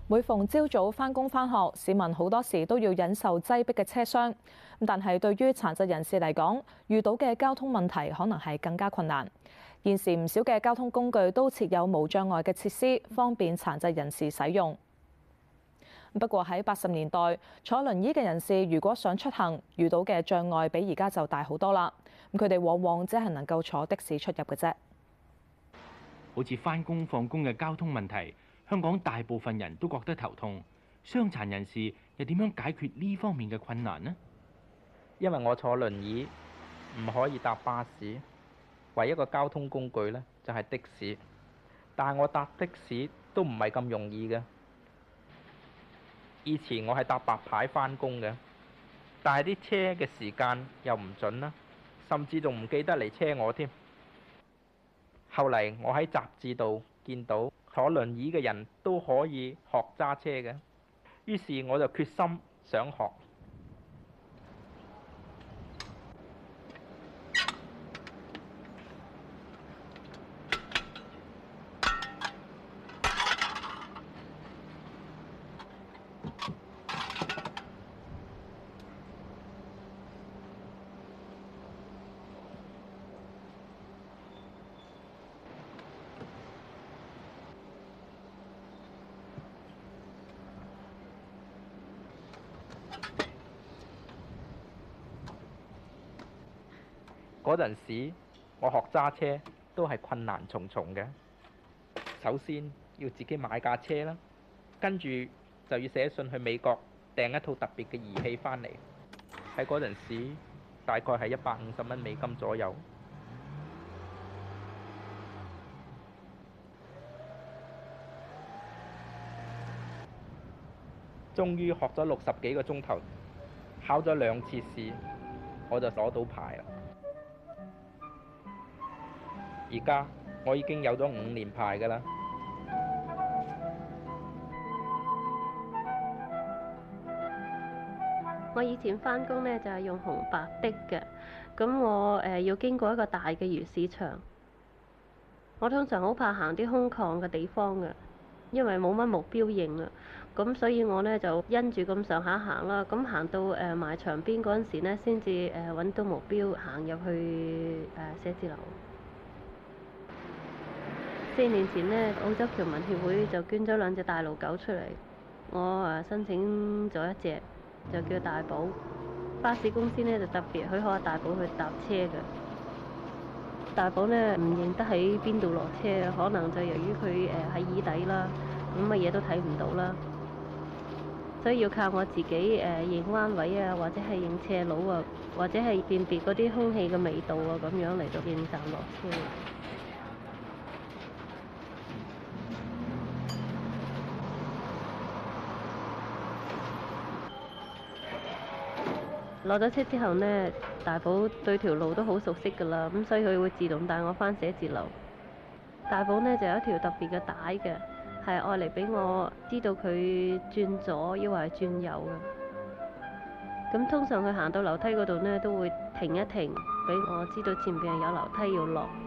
每逢朝早返工返學，市民好多時都要忍受擠迫嘅車廂。但係對於殘疾人士嚟講，遇到嘅交通問題可能係更加困難。現時唔少嘅交通工具都設有無障礙嘅設施，方便殘疾人士使用。不過喺80年代，坐輪椅嘅人士如果想出行，遇到嘅障礙比而家就大好多啦。佢哋往往只係能夠坐的士出入嘅啫。 好似返工放工嘅交通問題，香港大部分人都覺得頭痛。傷殘人士又點樣解決呢方面嘅困難呢？ 因為我坐輪椅唔可以搭巴士，唯一一個交通工具呢就係的士。但係我搭的士都唔係咁容易嘅。以前我係搭白牌返工嘅，但係啲車嘅時間又唔準啦，甚至仲唔記得嚟車我添。後嚟我喺雜誌度見到坐輪椅嘅人都可以學揸車嘅，於是我就決心想學。嗰陣時，我學揸車都係困難重重嘅。首先要自己買架車啦，跟住就要寫信去美國訂一套特別嘅儀器返嚟。喺嗰陣時，大概係150蚊美金左右。終於學咗60幾個鐘頭，考咗2次試，我就攞到牌啦。而家我已經有咗5年牌㗎啦。 我以前返工呢就係用紅白的嘅，咁我要經過一個大嘅魚市場。我通常好怕行啲空曠嘅地方嘅，因為冇乜目標認啊。咁所以我呢就因住咁上下行啦。咁行到埋牆邊嗰陣時呢，先至揾到目標行入去寫字樓。4年前呢，澳洲僑民協會就捐咗2隻大路狗出嚟，我申請咗1隻，就叫大寶。巴士公司呢就特別許可大寶去搭車嘅。大寶呢唔認得喺邊度落車，可能就由於佢喺椅底啦，咁乜嘢都睇唔到啦，所以要靠我自己認彎位啊，或者係認斜路啊，或者係辨別嗰啲空氣嘅味道啊，咁樣嚟到認站落車。落咗車之後呢，大寶對條路都好熟悉㗎啦，咁所以佢會自動帶我返寫字樓。大寶呢就有一條特別嘅帶嘅，係愛嚟俾我知道佢轉左抑或係轉右嘅。咁通常佢行到樓梯嗰度呢，都會停一停，俾我知道前邊係有樓梯要落。